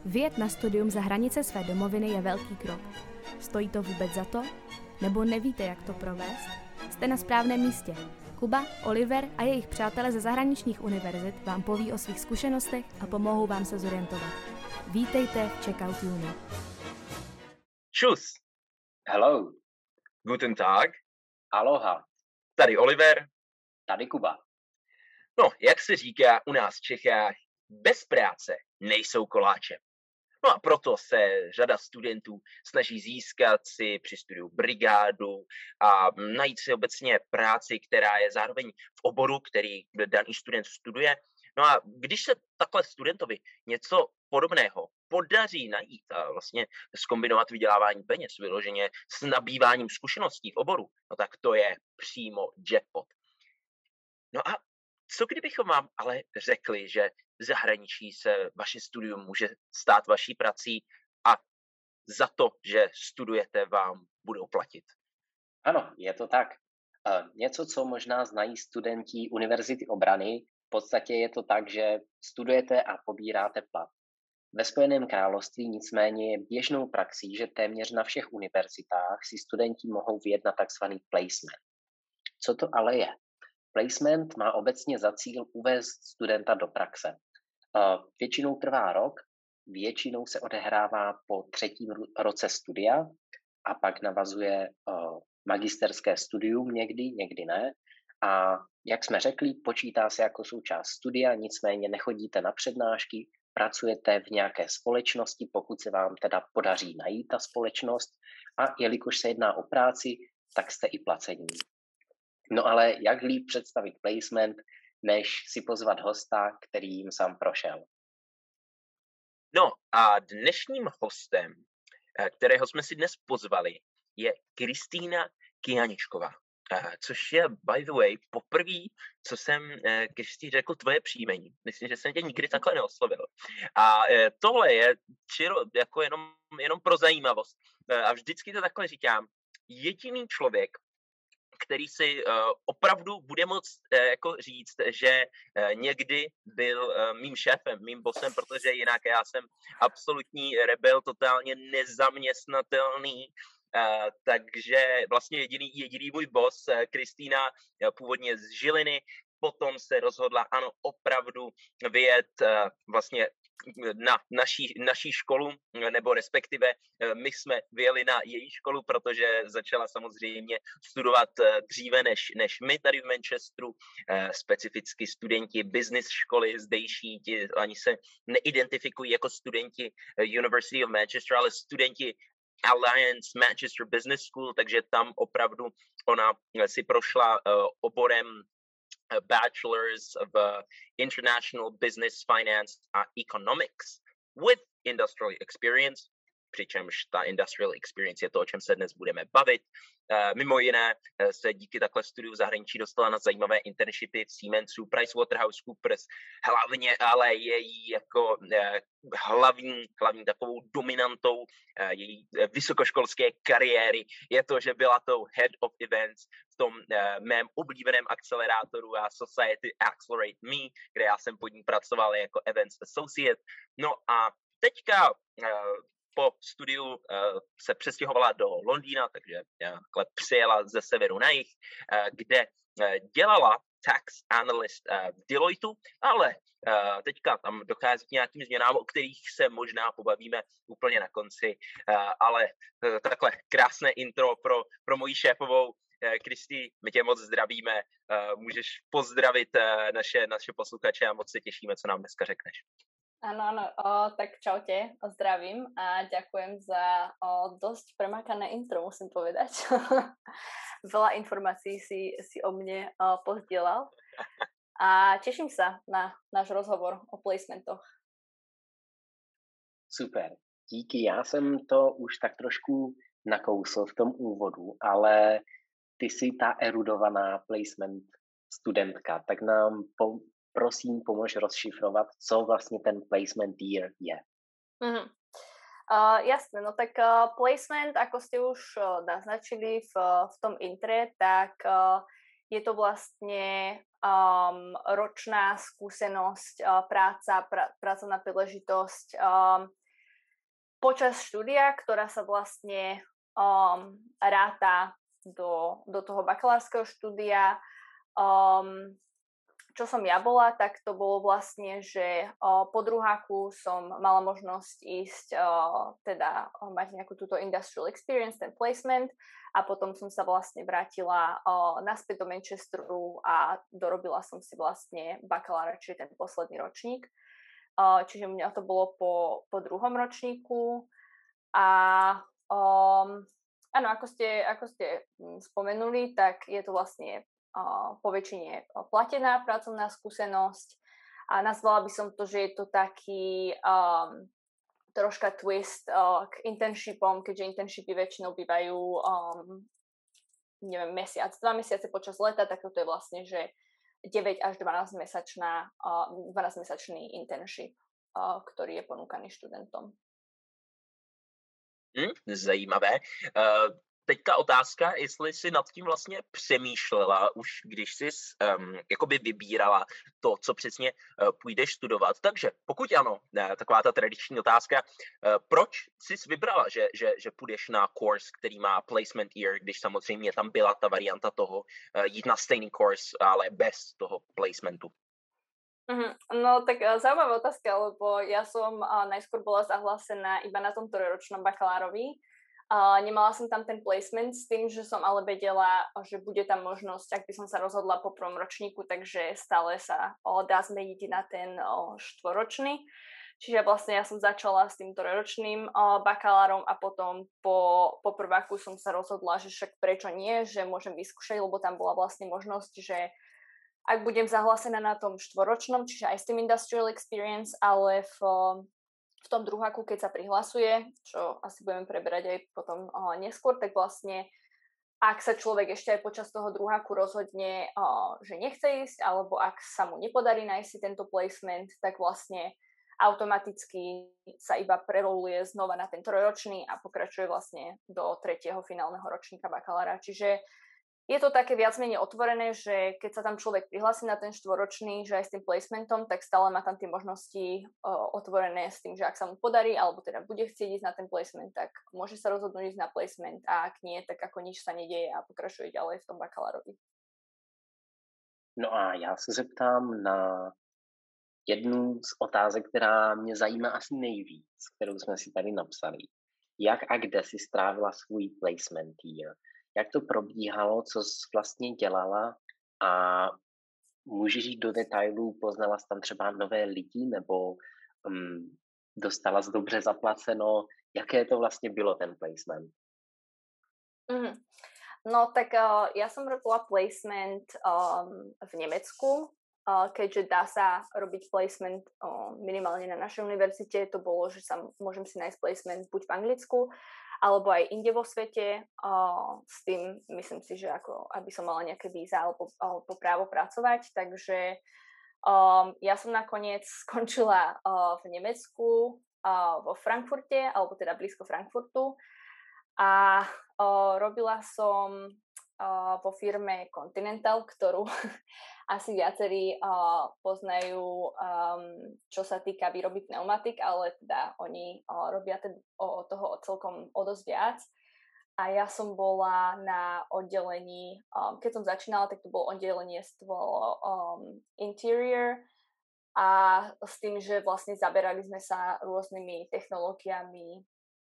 Vyjet na studium za hranice své domoviny je velký krok. Stojí to vůbec za to? Nebo nevíte, jak to provést? Jste na správném místě. Kuba, Oliver a jejich přátelé ze zahraničních univerzit vám poví o svých zkušenostech a pomohou vám se zorientovat. Vítejte v Checkout Uni. Tschüss. Hello. Guten Tag. Aloha. Tady Oliver. Tady Kuba. No, jak se říká u nás v Čechách, bez práce nejsou koláče. No a proto se řada studentů snaží získat si při studiu brigádu a najít si obecně práci, která je zároveň v oboru, který daný student studuje. No a když se takhle studentovi něco podobného podaří najít a vlastně zkombinovat vydělávání peněz vyloženě s nabýváním zkušeností v oboru, no tak to je přímo jackpot. No a co kdybychom vám ale řekli, že v zahraničí se vaše studium může stát vaší prací a za to, že studujete, vám budou platit? Ano, je to tak. Něco, co možná znají studenti Univerzity obrany, v podstatě je to tak, že studujete a pobíráte plat. Ve Spojeném království nicméně je běžnou praxí, že téměř na všech univerzitách si studenti mohou vyjednat takzvaný placement. Co to ale je? Placement má obecně za cíl uvést studenta do praxe. Většinou trvá rok, většinou se odehrává po 3. roce studia a pak navazuje magisterské studium někdy ne. A jak jsme řekli, počítá se jako součást studia, nicméně nechodíte na přednášky, pracujete v nějaké společnosti, pokud se vám teda podaří najít ta společnost a jelikož se jedná o práci, tak jste i placení. No ale jak líp představit placement, než si pozvat hosta, který jim sám prošel? No a dnešním hostem, kterého jsme si dnes pozvali, je Kristýna Kyaničková. Což je, by the way, poprvé, co jsem Kristý řekl tvoje příjmení. Myslím, že jsem tě nikdy takhle neoslovil. A tohle je jako jenom pro zajímavost. A vždycky to takhle říkám. Jediný člověk, který si opravdu bude moct jako říct, že někdy byl mým šéfem, mým bosem, protože jinak já jsem absolutní rebel, totálně nezaměstnatelný. Takže vlastně jediný můj boss, Kristýna, původně z Žiliny, potom se rozhodla, ano, opravdu vyjet vlastně na naší školu, nebo respektive my jsme vyjeli na její školu, protože začala samozřejmě studovat dříve než my tady v Manchesteru, specificky studenti business školy zdejší, ti ani se neidentifikují jako studenti University of Manchester, ale studenti Alliance Manchester Business School, takže tam opravdu ona si prošla oborem Bachelors of International Business Finance a Economics with Industrial Experience, přičemž ta Industrial Experience je to, o čem se dnes budeme bavit. Mimo jiné se díky takhle studiu v zahraničí dostala na zajímavé internshipy v Siemensu, PricewaterhouseCoopers, hlavně ale její jako hlavní takovou dominantou její vysokoškolské kariéry je to, že byla tou Head of Events v tom mém oblíbeném akcelerátoru a Society Accelerate Me, kde já jsem pod ní pracoval jako Events Associate. No a teďka po studiu se přestěhovala do Londýna, takže přijela ze severu na jih, kde dělala tax analyst v Deloitu, ale teďka tam dochází k nějakým změnám, o kterých se možná pobavíme úplně na konci, ale takhle krásné intro pro moji šéfovou. Kristý, my tě moc zdravíme, můžeš pozdravit naše posluchače a moc se těšíme, co nám dneska řekneš. Áno, tak čaute, zdravím a ďakujem za dosť premakané intro, musím povedať. Veľa informácií si o mne pozdielal a teším sa na náš rozhovor o placementoch. Super, díky, já jsem to už tak trošku nakousl v tom úvodu, ale ty jsi ta erudovaná placement studentka, tak nám prosím, pomož rozšifrovat, co vlastně ten placement year je. Mm-hmm. Jasné, no tak placement, ako ste už naznačili v tom intre, tak je to vlastne ročná skúsenosť, pracovná príležitosť počas štúdia, ktorá sa vlastne ráta do toho bakalárskeho štúdia. Čo som ja bola, tak to bolo vlastne, že po druháku som mala možnosť ísť, mať nejakú túto industrial experience, ten placement, a potom som sa vlastne vrátila naspäť do Manchesteru a dorobila som si vlastne bakalára, čiže ten posledný ročník. Čiže mňa to bolo po druhom ročníku a áno, ako ste spomenuli, tak je to vlastne po väčšine platená pracovná skúsenosť a nazvala by som to, že je to taký troška twist k internshipom, keďže internshipy väčšinou bývajú mesiac, 2 mesiace počas leta, tak to je vlastne, že 9 až 12-mesačný internship, ktorý je ponúkaný študentom. Zajímavé. Teďka otázka, jestli jsi nad tím vlastně přemýšlela už, když jsi jakoby vybírala to, co přesně půjdeš studovat. Takže pokud ano, taková ta tradiční otázka, proč jsi vybrala, že půjdeš na kurz, který má placement year, když samozřejmě tam byla ta varianta toho jít na stejný kurz, ale bez toho placementu? No tak zaujímavá otázka, lebo ja som najskôr bola zahlásená iba na tom trojročnom bakalárovi. Nemala som tam ten placement s tým, že som ale vedela, že bude tam možnosť, ak by som sa rozhodla po prvom ročníku, takže stále sa dá zmeniť na ten štvoročný. Čiže vlastne ja som začala s tým trojročným bakalárom a potom po prváku som sa rozhodla, že však prečo nie, že môžem vyskúšať, lebo tam bola vlastne možnosť, že ak budem zahlásená na tom štvoročnom, čiže aj s tým industrial experience, ale v tom druháku, keď sa prihlasuje, čo asi budeme preberať aj potom neskôr, tak vlastne ak sa človek ešte aj počas toho druháku rozhodne, že nechce ísť, alebo ak sa mu nepodarí nájsť si tento placement, tak vlastne automaticky sa iba preroluje znova na ten trojročný a pokračuje vlastne do 3. finálneho ročníka bakalára. Čiže je to také viac menej otvorené, že keď sa tam človek prihlási na ten štvoročný, že aj s tým placementom, tak stále má tam tie možnosti otvorené s tým, že ak sa mu podarí, alebo teda bude chcieť ísť na ten placement, tak môže sa rozhodnúť ísť na placement a ak nie, tak ako nič sa nedieje a pokračuje ďalej v tom bakalárovi. No a já se zeptám na jednu z otázek, která mě zajímá asi nejvíc, kterou jsme si tady napsali. Jak a kde si strávila svůj placement year? Jak to probíhalo, co jsi vlastně dělala a můžeš jít do detailů, poznala jsi tam třeba nové lidi nebo dostala jsi dobře zaplaceno, jaké to vlastně bylo ten placement? No tak ja som robila placement v Nemecku, keďže dá sa robiť placement minimálne na našej univerzite, to bolo, že môžem si nájsť placement buď v Anglicku, alebo aj inde vo svete. S tým myslím si, že ako aby som mala nejaké víza alebo právo pracovať. Takže ja som nakoniec skončila v Nemecku, vo Frankfurte, alebo teda blízko Frankfurtu. A robila som vo firme Continental, ktorú asi viacerí poznajú, čo sa týka výroby pneumatik, ale teda oni robia toho celkom o dosť viac. A ja som bola na oddelení, keď som začínala, tak to bolo oddelenie interior a s tým, že vlastne zaberali sme sa rôznymi technológiami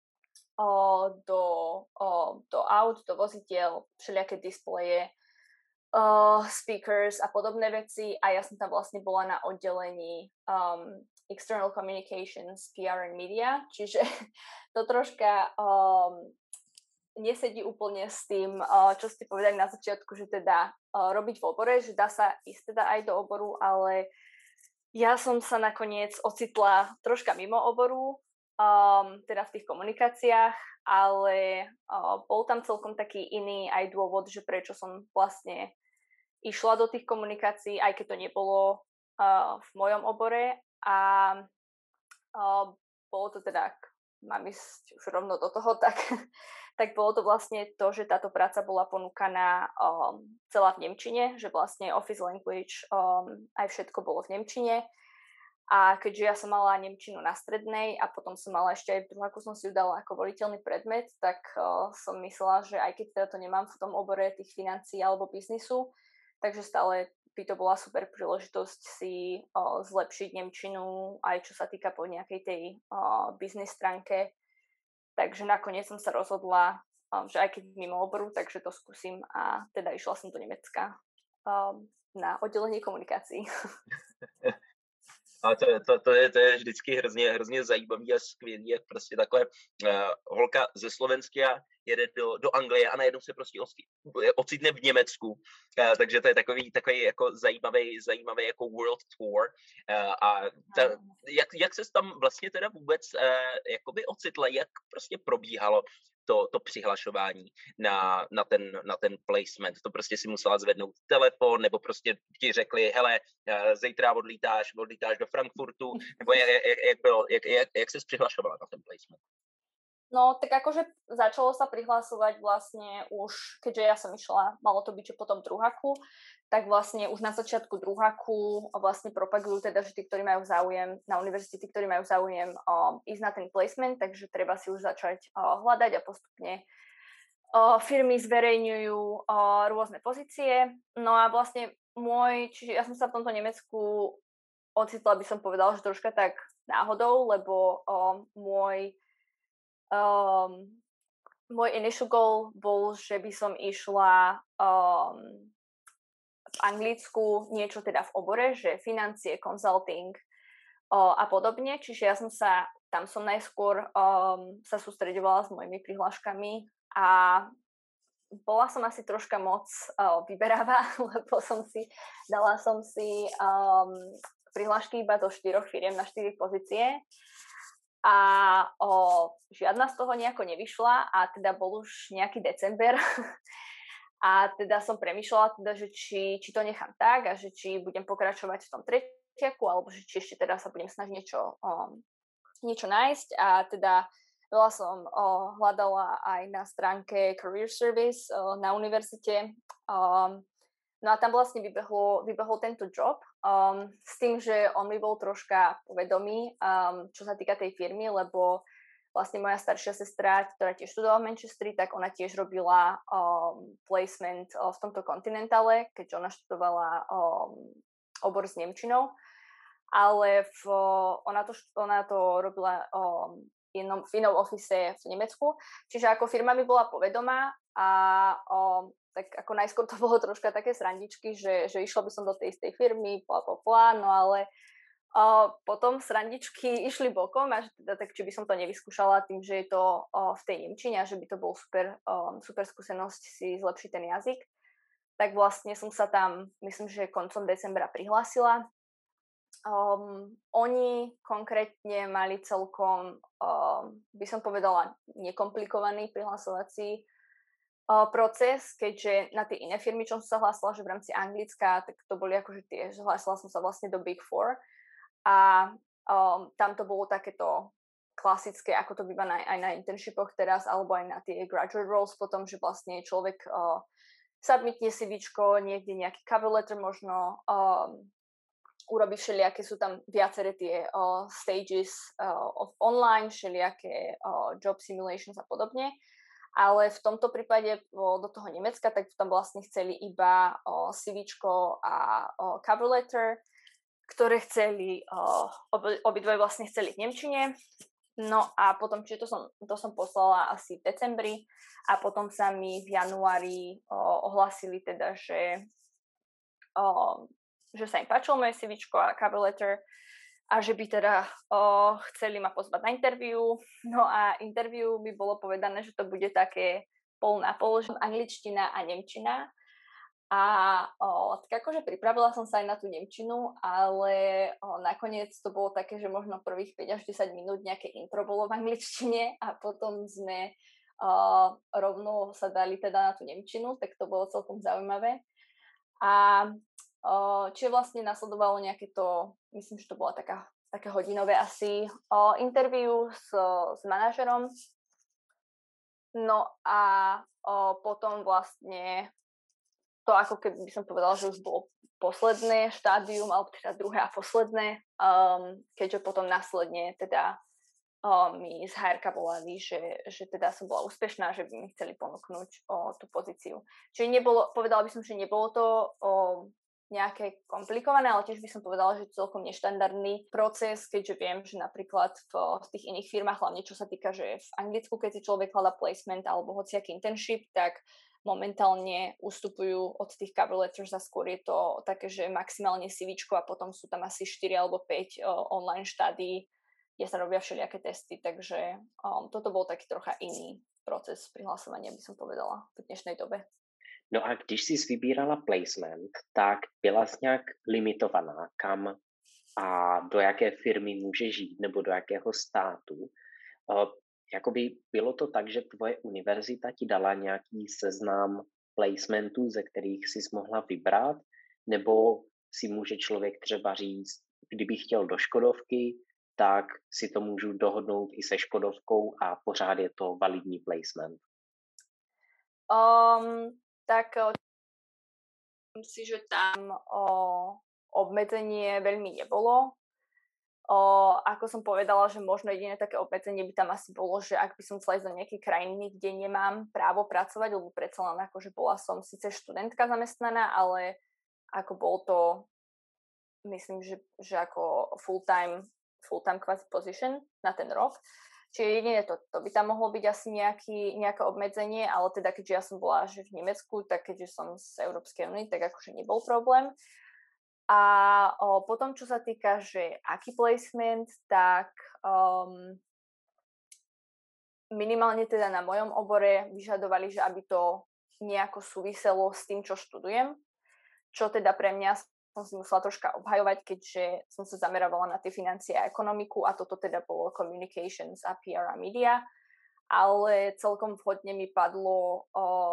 do aut, do vozidiel, všelijaké displeje, speakers a podobné veci a ja som tam vlastne bola na oddelení external communications, PR and media, čiže to troška nesedí úplne s tým, čo ste povedali na začiatku, že teda robiť v obore, že dá sa ísť teda aj do oboru, ale ja som sa nakoniec ocitla troška mimo oboru, teda v tých komunikáciách, ale bol tam celkom taký iný aj dôvod, že prečo som vlastne išla do tých komunikácií, aj keď to nebolo v mojom obore a bolo to teda, mám ísť už rovno do toho, tak bolo to vlastne to, že táto práca bola ponúkaná celá v nemčine, že vlastne office language aj všetko bolo v nemčine A keďže ja som mala nemčinu na strednej a potom som mala ešte aj v druháku som si ju dala ako voliteľný predmet, tak som myslela, že aj keď teda to nemám v tom obore tých financií alebo biznisu, takže stále by to bola super príležitosť si zlepšiť nemčinu, aj čo sa týka po nejakej tej biznis stránke. Takže nakoniec som sa rozhodla, že aj keď mimo oboru, takže to skúsim a teda išla som do Nemecka na oddelenie komunikácií. A to je vždycky hrozně zajímavý a skvělý, jak prostě takhle holka ze Slovenska jede do Anglie a najednou se prostě ocitne v Německu. Takže to je takový jako zajímavý jako world tour. Jak ses tam vlastně teda vůbec jakoby ocitla, jak prostě probíhalo to přihlašování na ten placement? To prostě si musela zvednout telefon, nebo prostě ti řekli, hele, zítra odlítáš do Frankfurtu, nebo jak ses přihlašovala na ten placement? No, tak akože začalo sa prihlasovať vlastne už, keďže ja som išla, malo to byť, že potom druháku, tak vlastne už na začiatku druháku vlastne propagujú teda, že tí, ktorí majú záujem na univerzite, tí, ktorí majú záujem ísť na ten placement, takže treba si už začať hľadať a postupne firmy zverejňujú rôzne pozície. No a vlastne čiže ja som sa v tomto Nemecku ocitla, by som povedala, že troška tak náhodou, lebo môj initial goal bol, že by som išla v Anglicku niečo teda v obore, že financie, consulting a podobne. Čiže ja tam som najskôr sa sústreďovala s mojimi prihláškami a bola som asi troška moc vyberavá, lebo dala som si prihlášky iba do 4 firiem na 4 pozície. A žiadna z toho nejako nevyšla a teda bol už nejaký december a teda som premýšľala teda, že či to nechám tak a že či budem pokračovať v tom tretiaku alebo že či ešte teda sa budem snažiť niečo nájsť a teda veľa som hľadala aj na stránke Career Service na univerzite. No a tam vlastne vybehol tento job s tým, že on mi bol troška povedomý, čo sa týka tej firmy, lebo vlastne moja staršia sestra, ktorá tiež študovala v Manchesteri, tak ona tiež robila placement v tomto kontinentále, keďže ona študovala obor s nemčinou, ale ona to robila v inom office v Nemecku, čiže ako firma mi bola povedomá a tak ako najskôr to bolo troška také srandičky, že išla by som do tej istej firmy, no ale potom srandičky išli bokom a že teda, tak či by som to nevyskúšala tým, že je to v tej nemčine a že by to bol super skúsenosť si zlepšiť ten jazyk. Tak vlastne som sa tam, myslím, že koncom decembra prihlásila. Oni konkrétne mali celkom, by som povedala, nekomplikovaný prihlasovací proces, keďže na tie iné firmy, čo som sa hlásila, že v rámci Anglicka, tak to boli akože tie, že hlásila som sa vlastne do Big Four a tam to bolo takéto klasické, ako to býva aj na internshipoch teraz, alebo aj na tie graduate roles potom, že vlastne človek submitne CVčko, niekde nejaký cover letter možno, urobí všelijaké, sú tam viaceré tie stages online, všelijaké job simulations a podobne. Ale v tomto prípade do toho Nemecka, tak tam vlastne chceli iba CVčko a cover letter, ktoré chceli, obidvoje vlastne chceli v nemčine. No a potom, čiže to som poslala asi v decembri a potom sa mi v januári ohlásili teda, že sa im páčilo moje CVčko a cover letter a že by teda chceli ma pozvať na interview. No a interview by bolo povedané, že to bude také pol na pol, angličtina a nemčina. A tak akože pripravila som sa aj na tú nemčinu, ale nakoniec to bolo také, že možno prvých 5 až 10 minút nejaké intro bolo v angličtine a potom sme rovno sa dali teda na tú nemčinu, tak to bolo celkom zaujímavé. A čiže vlastne nasledovalo nejaké to, myslím, že to bola také hodinové asi interview s manažerom. No a potom vlastne to ako keby by som povedala, že už bolo posledné štádium, alebo teda druhé a posledné, keďže potom následne teda mi z HR volali, že teda som bola úspešná, že by mi chceli ponúknuť tú pozíciu. Čiže povedala by som, že nebolo to nejaké komplikované, ale tiež by som povedala, že celkom neštandardný proces, keďže viem, že napríklad v tých iných firmách, hlavne čo sa týka, že v Anglicku, keď si človek hľadá placement alebo hociaký internship, tak momentálne ustupujú od tých cover letters a skôr je to také, že maximálne CVčko a potom sú tam asi 4 alebo 5 online štádií, kde sa robia všelijaké testy, takže toto bol taký trocha iný proces prihlasovania, by som povedala, v dnešnej dobe. No a když jsi vybírala placement, tak byla jsi nějak limitovaná, kam a do jaké firmy můžeš žít, nebo do jakého státu. Jakoby bylo to tak, že tvoje univerzita ti dala nějaký seznam placementů, ze kterých jsi mohla vybrat, nebo si může člověk třeba říct, kdyby chtěl do Škodovky, tak si to můžu dohodnout i se Škodovkou a pořád je to validní placement. Tak myslím si, že tam obmedzenie veľmi nebolo. Ako som povedala, že možno jediné také obmedzenie by tam asi bolo, že ak by som chcela ísť do nejakej krajiny, kde nemám právo pracovať, lebo predsa len akože bola som síce študentka zamestnaná, ale ako bol to, myslím, že ako full-time quasi position na ten rok. Čiže jediné to by tam mohlo byť asi nejaké obmedzenie, ale teda keďže ja som bola že v Nemecku, tak keďže som z Európskej únie, tak akože nebol problém. A potom, čo sa týka, že aký placement, tak minimálne teda na mojom obore vyžadovali, že aby to nejako súviselo s tým, čo študujem, čo teda pre mňa som si musela troška obhajovať, keďže som sa zameravala na tie financie a ekonomiku a toto teda bolo communications a PR a media, ale celkom vhodne mi padlo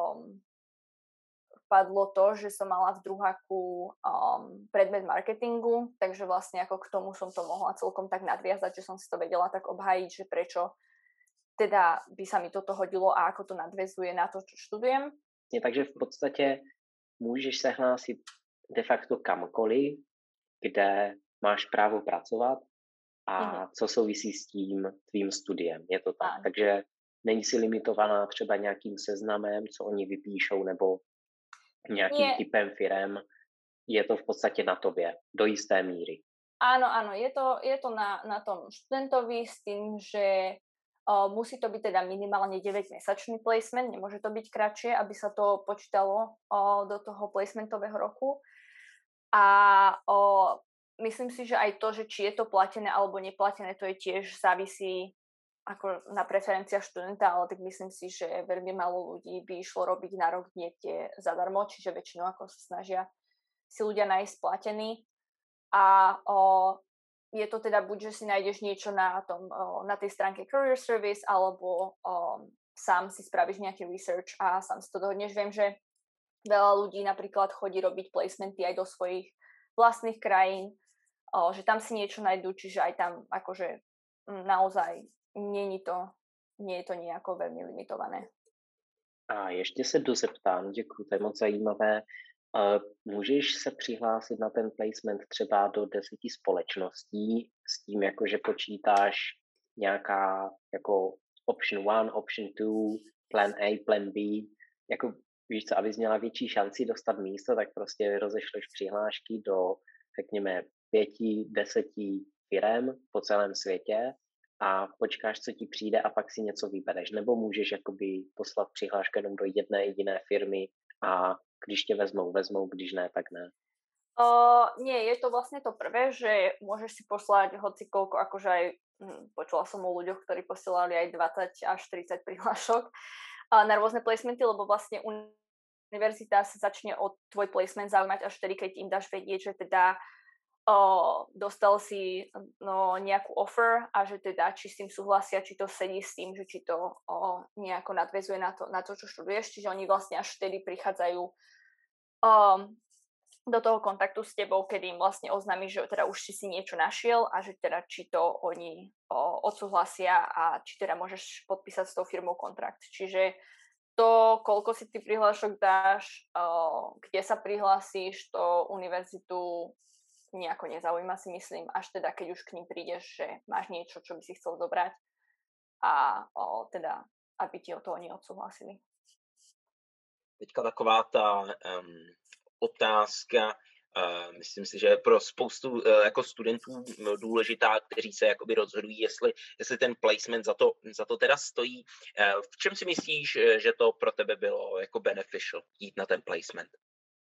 to, že som mala v druháku predmet marketingu, takže vlastne ako k tomu som to mohla celkom tak nadviazať, že som si to vedela tak obhájiť, že prečo teda by sa mi toto hodilo a ako to nadväzuje na to, čo študujem. Takže v podstatě můžeš se hlásit de facto kamkoliv, kde máš právo pracovat a co souvisí s tím tvým studiem. Je to tak. Takže není si limitovaná třeba nějakým seznamem, co oni vypíšou, nebo nějakým typem firem. Je to v podstatě na tobě, do jisté míry. Áno, je to na tom študentovi s tým, že musí to byť teda minimálne 9-mesačný placement, nemôže to byť kratšie, aby sa to počítalo do toho placementového roku. A myslím si, že aj to, že či je to platené alebo neplatené, to je tiež závisí ako na preferenciách študenta, ale tak myslím si, že veľmi málo ľudí by išlo robiť na rok niekde zadarmo, čiže väčšinou ako sa snažia si ľudia nájsť platený. A je to teda buď, že si nájdeš niečo na tej stránke Career Service, alebo sám si spravíš nejaký research a sám si to dohodneš. Viem, že veľa ľudí napríklad chodí robiť placementy aj do svojich vlastných krajín, že tam si niečo nájdú, čiže aj tam akože naozaj nie je to nejako veľmi limitované. A ještě se dozeptám, děkuji, to je moc zajímavé. Můžeš se přihlásit na ten placement třeba do 10 společností s tím, jako že počítáš nějaká jako option 1, option 2, plan A, plan B, jako víš co, abys měla větší šanci dostat místo, tak prostě rozešleš přihlášky do, řekněme, 5-10 firem po celém světě a počkáš, co ti přijde a pak si něco vybereš. Nebo můžeš jakoby poslat přihlášku jenom do jedné jediné firmy a když tě vezmou, když ne, tak ne. Nie, je to vlastne to prvé, že môžeš si poslať hocikoľko, akože aj počula som o ľuďoch, ktorí posielali aj 20 až 30 prihlášok na rôzne placementy, lebo vlastne univerzita sa začne o tvoj placement zaujímať až vtedy, keď im dáš vedieť, že teda dostal si nejakú offer a že teda či s tým súhlasia, či to sedí s tým, že či to nejako nadväzuje na to, čo študuješ, čiže oni vlastne až vtedy prichádzajú do toho kontaktu s tebou, kedy im vlastne oznámiš, že teda už si niečo našiel a že teda či to oni odsúhlasia a či teda môžeš podpísať s tou firmou kontrakt. Čiže to, koľko si ty prihlášok dáš, kde sa prihlásíš, to univerzitu nejako nezaujíma, si myslím, až teda keď už k ním prídeš, že máš niečo, čo by si chcel zobrať a teda, aby ti o to oni odsúhlasili. Teďka taková ta otázka, myslím si, že je pro spoustu jako studentů důležitá, kteří se jakoby rozhodují, jestli ten placement za to teda stojí. V čem si myslíš, že to pro tebe bylo jako beneficial jít na ten placement?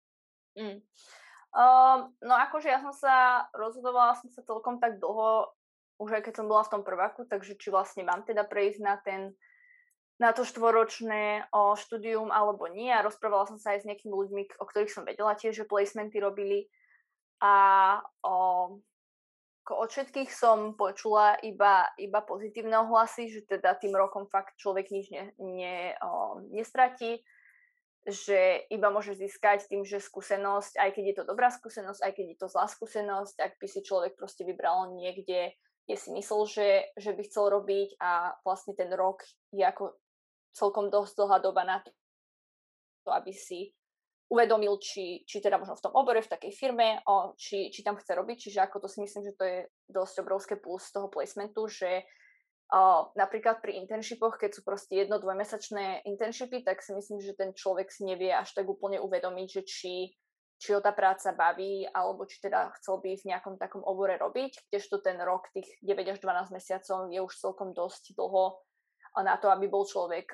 No akože ja som sa rozhodovala celkom tak dlho, už aj keď som bola v tom prváku, takže či vlastne mám teda prejsť na to štvorročné štúdium alebo nie. A rozprávala som sa aj s nejakými ľuďmi, o ktorých som vedela tiež, že placementy robili. A od všetkých som počula iba pozitívne ohlasy, že teda tým rokom fakt človek nič nestratí, že iba môže získať tým, že skúsenosť, aj keď je to dobrá skúsenosť, aj keď je to zlá skúsenosť, ak by si človek proste vybral niekde, kde si myslel, že by chcel robiť a vlastne ten rok je ako celkom dosť dlhá doba na to, aby si uvedomil, či teda možno v tom obore, v takej firme, či tam chce robiť. Čiže ako to si myslím, že to je dosť obrovské plus toho placementu, že napríklad pri internshipoch, keď sú proste 1-2-mesačné internshipy, tak si myslím, že ten človek si nevie až tak úplne uvedomiť, že či ho tá práca baví, alebo či teda chcel by v nejakom takom obore robiť, kdežto ten rok, tých 9 až 12 mesiacov je už celkom dosť dlho na to, aby bol človek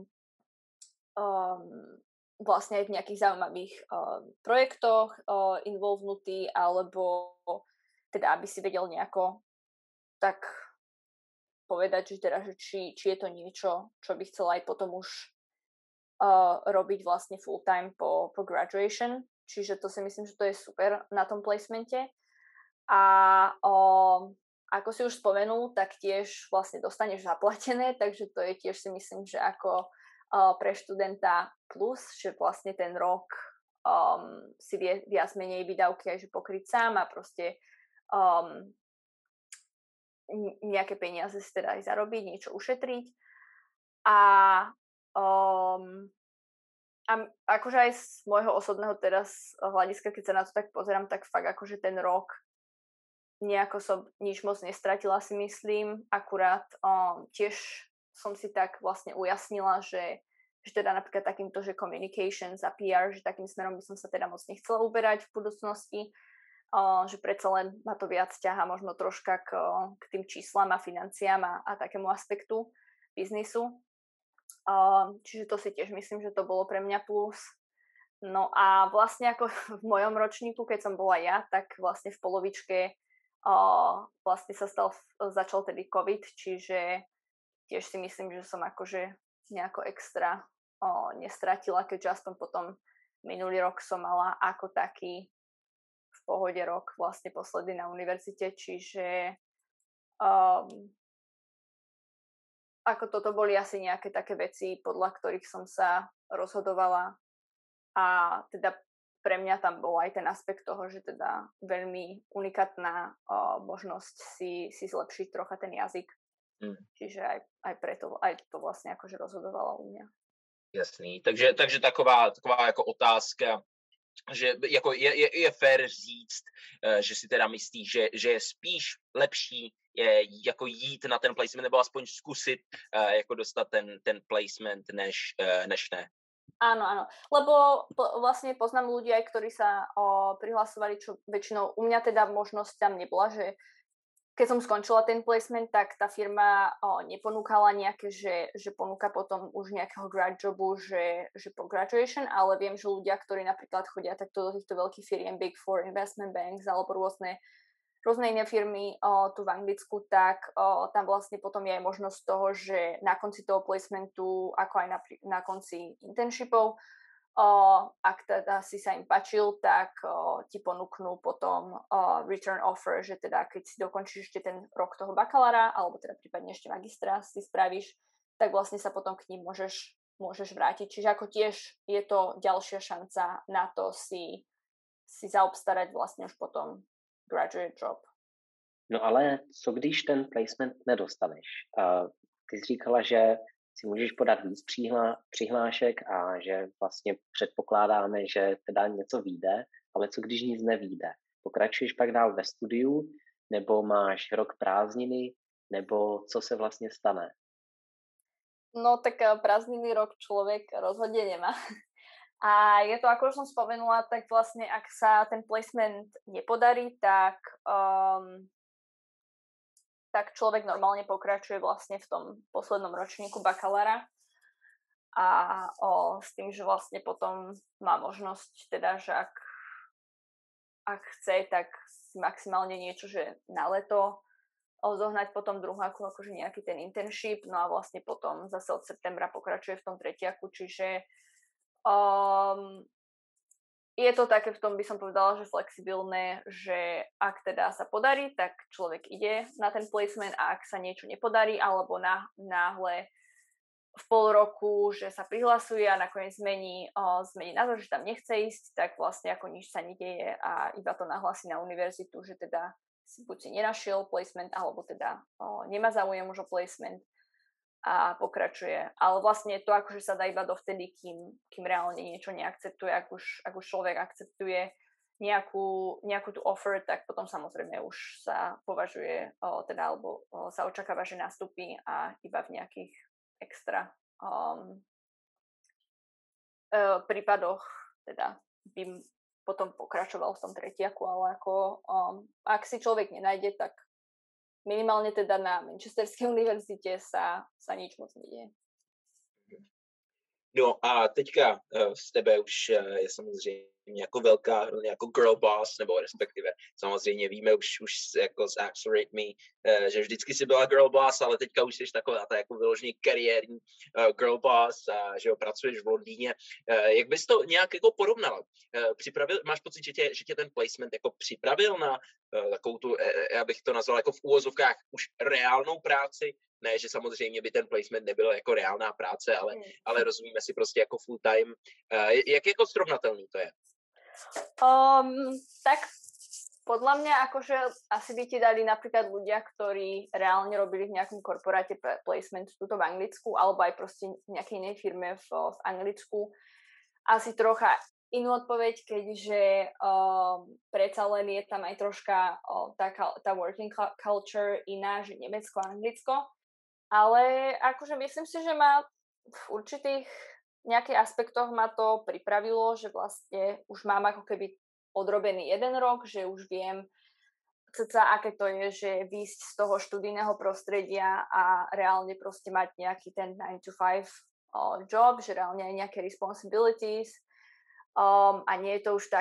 vlastne aj v nejakých zaujímavých projektoch involvnutý, alebo teda aby si vedel nejako tak povedať, že teda, že či je to niečo, čo by chcel aj potom už robiť vlastne full time po graduation. Čiže to si myslím, že to je super na tom placemente. A ako si už spomenul, tak tiež vlastne dostaneš zaplatené, takže to je tiež si myslím, že ako pre študenta plus, že vlastne ten rok si vie viac menej výdavky aj že pokryť sám a proste nejaké peniaze si teda aj zarobiť, niečo ušetriť. A akože aj z môjho osobného teraz hľadiska, keď sa na to tak pozerám, tak fakt akože ten rok nejako som nič moc nestratila, si myslím. Akurát tiež som si tak vlastne ujasnila, že teda napríklad takýmto, že communications a PR, že takým smerom by som sa teda moc nechcela uberať v budúcnosti, že predsa len ma to viac ťahá možno troška k tým číslam a financiám a takému aspektu biznisu. Čiže to si tiež myslím, že to bolo pre mňa plus. No a vlastne ako v mojom ročníku, keď som bola ja, tak vlastne v polovičke vlastne začal tedy COVID, čiže tiež si myslím, že som akože nejako extra nestratila, keďže aspoň potom minulý rok som mala ako taký v pohode rok vlastne posledný na univerzite, čiže ako toto boli asi nejaké také veci, podľa ktorých som sa rozhodovala a teda pre mňa tam bol aj ten aspekt toho, že teda veľmi unikátna možnosť si zlepšiť trocha ten jazyk. Čiže aj preto, aj to vlastne akože rozhodovalo u mňa. Jasný, takže taková jako otázka, že jako je fér říct, že si teda myslíš, že je spíš lepší jako jít na ten placement, nebo aspoň zkusit jako dostat ten placement, než ne. Áno, lebo vlastne poznám ľudí aj, ktorí sa prihlasovali, čo väčšinou u mňa teda možnosť tam nebola, že keď som skončila ten placement, tak tá firma neponúkala nejaké, že ponúka potom už nejakého grad jobu, že po graduation, ale viem, že ľudia, ktorí napríklad chodia takto do týchto veľkých firiem, Big Four, Investment Banks alebo rôzne iné firmy tu v Anglicku, tak tam vlastne potom je aj možnosť toho, že na konci toho placementu, ako aj na konci internshipov, ak teda si sa im páčil, tak ti ponúknú potom return offer, že teda keď si dokončíš ešte ten rok toho bakalára, alebo teda prípadne ešte magistra si spravíš, tak vlastne sa potom k ním môžeš vrátiť. Čiže ako tiež je to ďalšia šanca na to si zaobstarať vlastne už potom graduate job. No ale co když ten placement nedostaneš? Ty jsi říkala, že si můžeš podat víc přihlášek a že vlastně předpokládáme, že teda něco vyjde, ale co když nic nevyjde? Pokračuješ pak dál ve studiu, nebo máš rok prázdniny, nebo co se vlastně stane? No tak prázdniny rok človek rozhodne nemá. A je to, ako už som spomenula, tak vlastne ak sa ten placement nepodarí, tak človek normálne pokračuje vlastne v tom poslednom ročníku bakalára a s tým, že vlastne potom má možnosť teda, že ak chce, tak si maximálne niečo, že na leto zohnať potom druháku akože nejaký ten internship, no a vlastne potom zase od septembra pokračuje v tom tretiaku, čiže je to také, v tom by som povedala, že flexibilné, že ak teda sa podarí, tak človek ide na ten placement a ak sa niečo nepodarí, alebo náhle v pol roku, že sa prihlasuje a nakoniec zmení názor, že tam nechce ísť, tak vlastne ako nič sa nedeje a iba to nahlási na univerzitu, že teda buď si nenašiel placement, alebo teda nemá záujem už o placement a pokračuje. Ale vlastne to akože sa dá iba dovtedy, kým reálne niečo neakceptuje. Ak už človek akceptuje nejakú tú offer, tak potom samozrejme už sa považuje, alebo sa očakáva, že nastúpi a iba v nejakých extra prípadoch teda by potom pokračoval v tom tretiaku, ale ako ak si človek nenájde, tak minimálne teda na Manchesterskej univerzitě sa nič moc neděje. No a teďka z tebe už je samozřejmě jako velká, jako girl boss, nebo respektive samozřejmě víme už jako z Accelerate Me, že vždycky si byla girl boss, ale teďka už jsi taková ta jako vyloženě kariérní girl boss a že pracuješ v Londýně. Jak bys to nějak jako porovnala? Máš pocit, že tě ten placement jako připravil na takovou tu, já bych to nazval jako v úvozovkách už reálnou práci? Ne, že samozřejmě by ten placement nebyl jako reálná práce, ale rozumíme si prostě jako full time. Jak jako srovnatelný to je? Tak podľa mňa akože asi by ti dali napríklad ľudia, ktorí reálne robili v nejakom korporáte placement tuto v Anglicku alebo aj proste v nejakej inej firme v Anglicku. Asi trocha inú odpoveď, keďže predsa len je tam aj troška tá working culture iná, že Nemecko a Anglicko. Ale akože myslím si, že ma v určitých nejakých aspektoch ma to pripravilo, že vlastne už mám ako keby odrobený 1 rok, že už viem cca, aké to je, že výjsť z toho študijného prostredia a reálne proste mať nejaký ten 9 to 5 job, že reálne aj nejaké responsibilities a nie je to už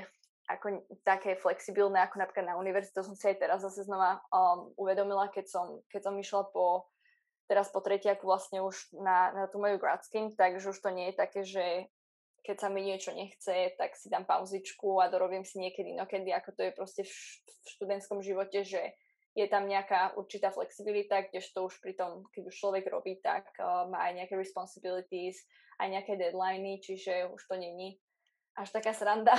také flexibilné ako napríklad na univerzitu. To som si aj teraz zase znova uvedomila, keď som išla teraz po tretiaku vlastne už na tú moju grad scheme, takže už to nie je také, že keď sa mi niečo nechce, tak si dám pauzičku a dorobím si niekedy inokedy, ako to je proste v študentskom živote, že je tam nejaká určitá flexibilita, kdežto už pri tom, keď už človek robí, tak má aj nejaké responsibilities, aj nejaké deadliny, čiže už to není až taká sranda.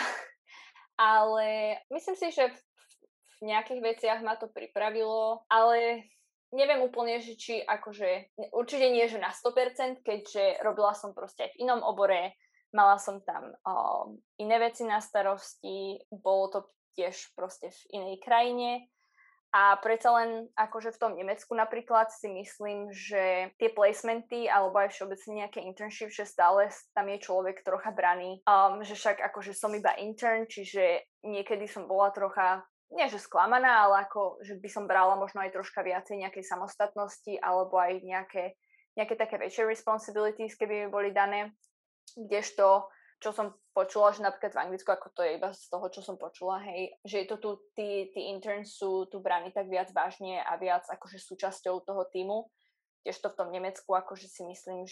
Ale myslím si, že v nejakých veciach ma to pripravilo, ale neviem úplne, že či akože, určite nie, že na 100%, keďže robila som proste aj v inom obore, mala som tam iné veci na starosti, bolo to tiež proste v inej krajine a predsa len akože v tom Nemecku napríklad si myslím, že tie placementy alebo aj všeobecne nejaké internship, že stále tam je človek trocha braný, že však akože som iba intern, čiže niekedy som bola trocha nie že sklamaná, ale ako, že by som brala možno aj troška viacej nejakej samostatnosti alebo aj nejaké také väčšie responsibilities, keby mi boli dané. Kdežto, čo som počula, že napríklad v Anglicku, ako to je iba z toho, čo som počula, hej, že je to tu, tí interns sú tu braní tak viac vážne a viac akože súčasťou toho tímu. Kdežto v tom Nemecku akože si myslím,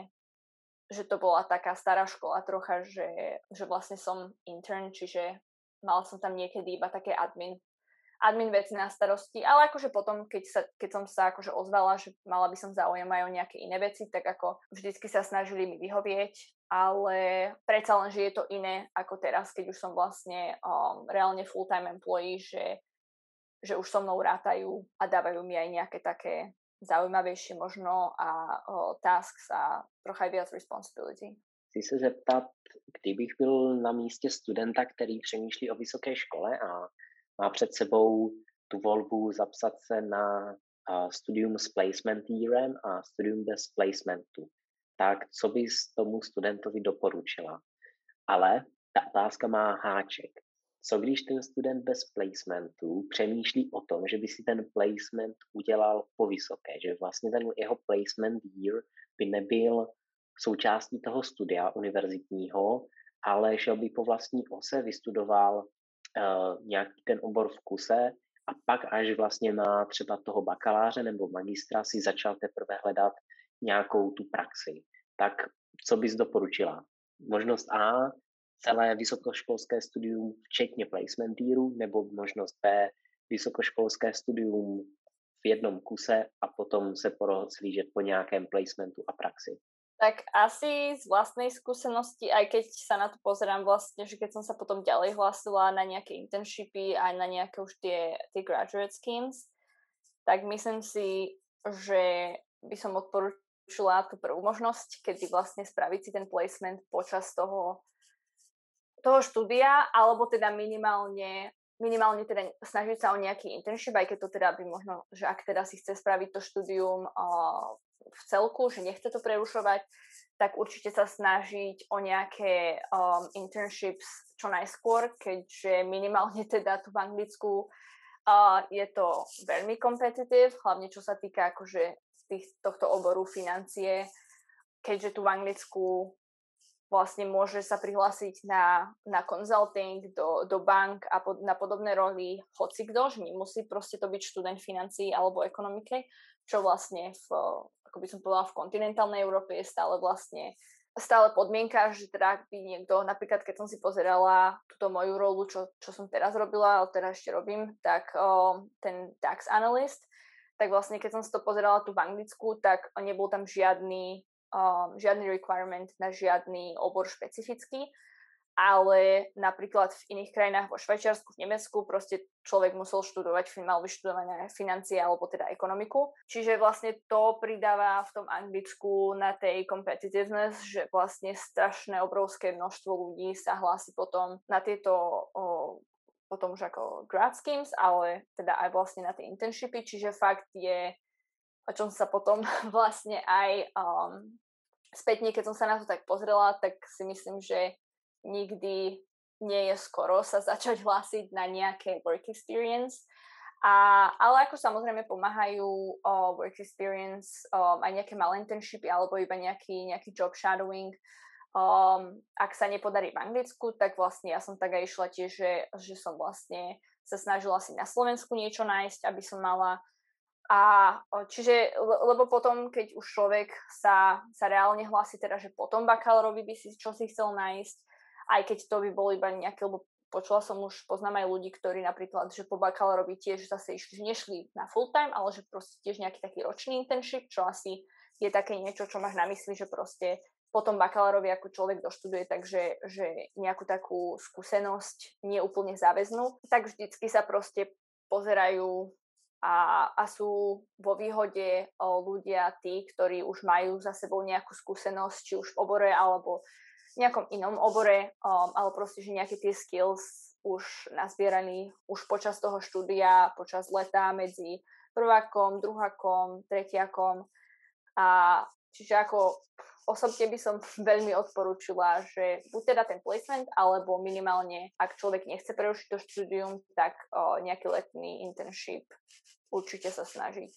že to bola taká stará škola trocha, že vlastne som intern, čiže mala som tam niekedy iba také admin veci na starosti, ale akože potom, keď som sa akože ozvala, že mala by som záujem aj o nejaké iné veci, tak ako vždycky sa snažili mi vyhovieť, ale predsa len, že je to iné ako teraz, keď už som vlastne reálne full-time employee, že už so mnou rátajú a dávajú mi aj nejaké také zaujímavejšie možno a tasks a trocha aj viac responsibility. Chci se zeptat, kdybych byl na místě studenta, který přemýšlí o vysoké škole a má před sebou tu volbu zapsat se na studium s placement yearem a studium bez placementu, tak co bys tomu studentovi doporučila? Ale ta otázka má háček. Co když ten student bez placementu přemýšlí o tom, že by si ten placement udělal po vysoké, že vlastně ten jeho placement year by nebyl součástí toho studia univerzitního, ale šel by po vlastní ose, vystudoval nějaký ten obor v kuse a pak až vlastně na třeba toho bakaláře nebo magistra si začal teprve hledat nějakou tu praxi. Tak co bys doporučila? Možnost A, celé vysokoškolské studium včetně placement yearu, nebo možnost B, vysokoškolské studium v jednom kuse a potom se porozhlížet po nějakém placementu a praxi? Tak asi z vlastnej skúsenosti, aj keď sa na to pozerám vlastne, že keď som sa potom ďalej hlásila na nejaké internshipy aj na nejaké už tie graduate schemes, tak myslím si, že by som odporúčila tú prvú možnosť, kedy vlastne spraviť si ten placement počas toho štúdia, alebo teda minimálne teda snažiť sa o nejaký internship, aj keď to teda by možno, že ak teda si chce spraviť to štúdium v celku, že nechce to prerušovať, tak určite sa snažiť o nejaké internships čo najskôr, keďže minimálne teda tu v Anglicku je to veľmi competitive, hlavne čo sa týka akože tohto oboru financie, keďže tu v Anglicku vlastne môže sa prihlásiť na consulting do bank a na podobné roli hocikdo, že nemusí proste to byť študent financií alebo ekonomike, čo vlastne ako by som povedala, v kontinentálnej Európe je stále podmienka, že teda by niekto, napríklad keď som si pozerala túto moju rolu, čo som teraz robila, ale teraz ešte robím, tak ten tax analyst, tak vlastne keď som si to pozerala tu v Anglicku, tak nebol tam žiadny requirement na žiadny obor špecifický, ale napríklad v iných krajinách, vo Švajčiarsku, v Nemecku, proste človek musel študovať, mal vyštudované financie alebo teda ekonomiku. Čiže vlastne to pridáva v tom Anglicku na tej competitiveness, že vlastne strašné obrovské množstvo ľudí sa hlási potom na tieto potom už ako grad schemes, ale teda aj vlastne na tie internshipy, čiže fakt je, o čom sa potom vlastne aj spätne, keď som sa na to tak pozrela, tak si myslím, že nikdy nie je skoro sa začať hlásiť na nejaké work experience. Ale ako samozrejme pomáhajú work experience, aj nejaké malé internshipy alebo iba nejaký job shadowing. Ak sa nepodarí v Anglicku, tak vlastne ja som tak aj išla tiež, že som vlastne sa snažila si na Slovensku niečo nájsť, aby som mala. Čiže, lebo potom, keď už človek sa reálne hlási teda, že potom bakalárovi by si čo si chcel nájsť, aj keď to by bolo iba nejaké, lebo počula som už, poznám aj ľudí, ktorí napríklad, že po bakalárovi tiež zase išli, že nešli na full time, ale že proste tiež nejaký taký ročný internship, čo asi je také niečo, čo máš na mysli, že proste potom bakalárovi ako človek doštuduje, takže že nejakú takú skúsenosť nie úplne záväznú, tak vždycky sa proste pozerajú a sú vo výhode ľudia tí, ktorí už majú za sebou nejakú skúsenosť, či už v obore alebo nejakom inom obore, ale proste, že nejaké tie skills už nazbieraní už počas toho štúdia, počas leta medzi prvákom, druhákom, tretiakom. Čiže ako osobne by som veľmi odporúčila, že buď teda ten placement, alebo minimálne, ak človek nechce prerušiť to štúdium, tak nejaký letný internship určite sa snažiť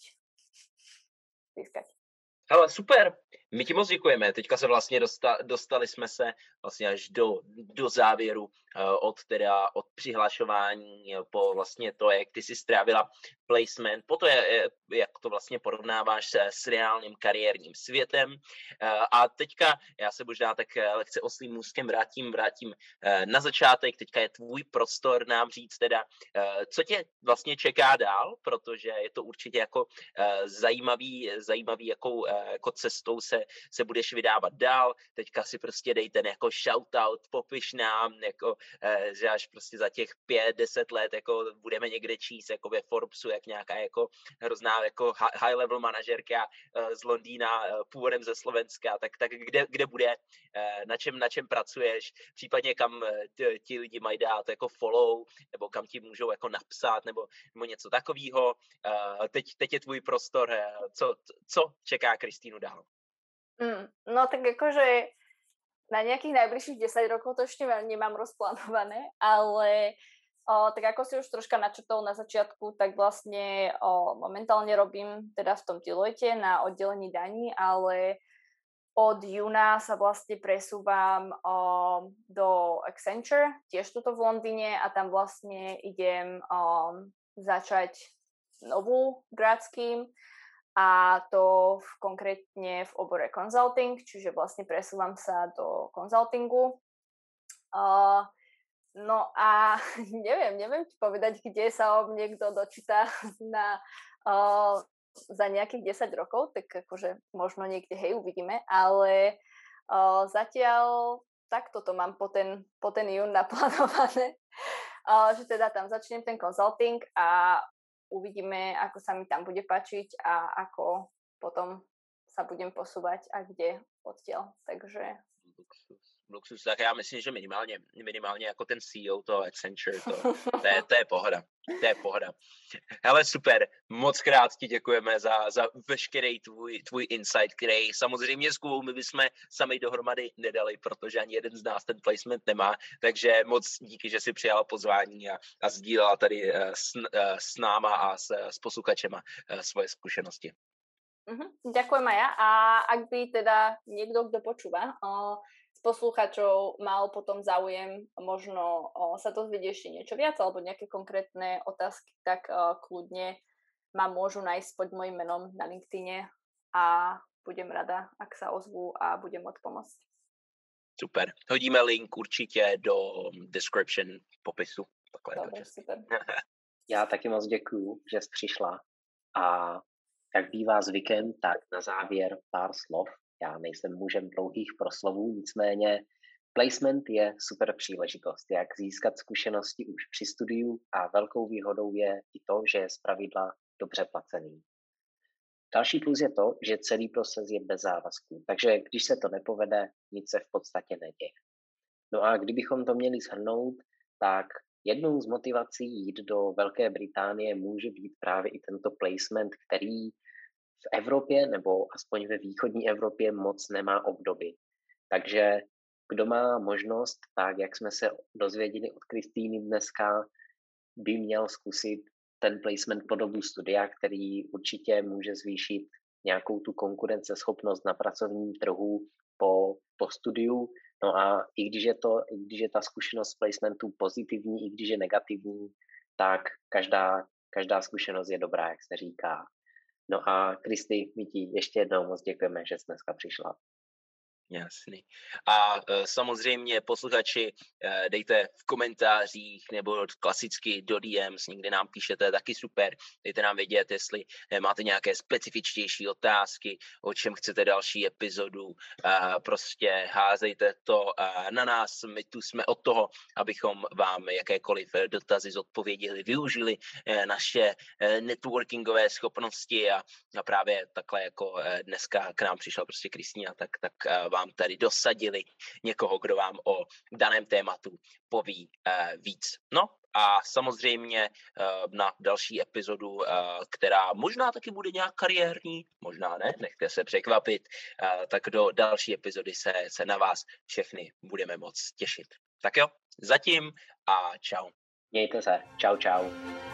získať. Hele, super, my ti moc děkujeme. Teďka se vlastně dostali jsme se vlastně až do závěru od přihlašování po vlastně to, jak ty si strávila placement, po to, jak to vlastně porovnáváš s reálným kariérním světem. A teďka já se možná tak lehce oslým můstkem vrátím na začátek. Teďka je tvůj prostor nám říct teda, co tě vlastně čeká dál, protože je to určitě jako zajímavý, jakou jako cestou se se budeš vydávat dál. Teďka si prostě dej ten jako shoutout, popiš nám, jako, že až prostě za těch 5-10 let jako budeme někde číst jako ve Forbesu, jak nějaká jako hrozná jako high level manažerka z Londýna, původem ze Slovenska, tak kde bude, na čem pracuješ, případně kam ti lidi mají dát jako follow, nebo kam ti můžou jako napsat, nebo něco takového. Teď je tvůj prostor, co čeká Kristýnu dál? No tak akože na nejakých najbližších 10 rokov to ešte nemám rozplánované, ale tak ako si už troška načrtol na začiatku, tak vlastne momentálne robím teda v tom Deloitte na oddelení daní, ale od júna sa vlastne presúvam do Accenture, tiež tuto v Londýne, a tam vlastne idem začať novú grad scheme, a to konkrétne v obore consulting, čiže vlastne presúvam sa do consultingu. No a neviem ti povedať, kde sa o mne kto dočíta za nejakých 10 rokov, tak akože možno niekde, hej, uvidíme, ale zatiaľ takto to mám po ten jún naplánované, že teda tam začnem ten consulting a uvidíme, ako sa mi tam bude páčiť a ako potom sa budem posúvať a kde odtiaľ, takže... Luxus, tak já myslím, že minimálně jako ten CEO toho Accenture, to je pohoda. To je pohoda. Hele, super, moc krát ti děkujeme za veškerý tvůj insight, který samozřejmě s Kubou my bychom sami dohromady nedali, protože ani jeden z nás ten placement nemá, takže moc díky, že jsi přijala pozvání a sdílela tady s náma a s posluchačema svoje zkušenosti. Ďakujem aj ja, a ak by teda niekto, kto počúva, z posluchačov mal potom záujem možno sa dozvedieť ešte niečo viac alebo nejaké konkrétne otázky, tak kľudne ma môžu nájsť pod mojím menom na LinkedIne a budem rada, ak sa ozvú a budem môcť pomôcť. Super. Hodíme link určitě do description popisu. Dobre, super. Já taky moc děkuju, že jsi přišla, a jak bývá zvykem, tak na závěr pár slov. Já nejsem mužem dlouhých proslovů, nicméně placement je super příležitost, jak získat zkušenosti už při studiu, a velkou výhodou je i to, že je zpravidla dobře placený. Další plus je to, že celý proces je bez závazků, takže když se to nepovede, nic se v podstatě neděje. No a kdybychom to měli shrnout, tak jednou z motivací jít do Velké Británie může být právě i tento placement, který v Evropě, nebo aspoň ve východní Evropě, moc nemá obdoby. Takže kdo má možnost, tak jak jsme se dozvěděli od Kristýny dneska, by měl zkusit ten placement po dobu studia, který určitě může zvýšit nějakou tu konkurenceschopnost na pracovním trhu po studiu. No a i když je ta zkušenost placementu pozitivní, i když je negativní, tak každá zkušenost je dobrá, jak se říká. No a Kristi, my ti ještě jednou moc děkujeme, že jsi dneska přišla. Jasný. A samozřejmě posluchači, dejte v komentářích nebo klasicky do DMs, někde nám píšete, taky super. Dejte nám vědět, jestli máte nějaké specifičtější otázky, o čem chcete další epizodu. Prostě házejte to na nás, my tu jsme od toho, abychom vám jakékoliv dotazy zodpověděli, využili naše networkingové schopnosti a právě takhle jako dneska k nám přišla prostě Kristýna, tak vám tady dosadili někoho, kdo vám o daném tématu poví víc. No a samozřejmě na další epizodu, která možná taky bude nějak kariérní, možná ne, nechte se překvapit, tak do další epizody se na vás všechny budeme moc těšit. Tak jo, zatím a čau. Mějte se. Čau, čau.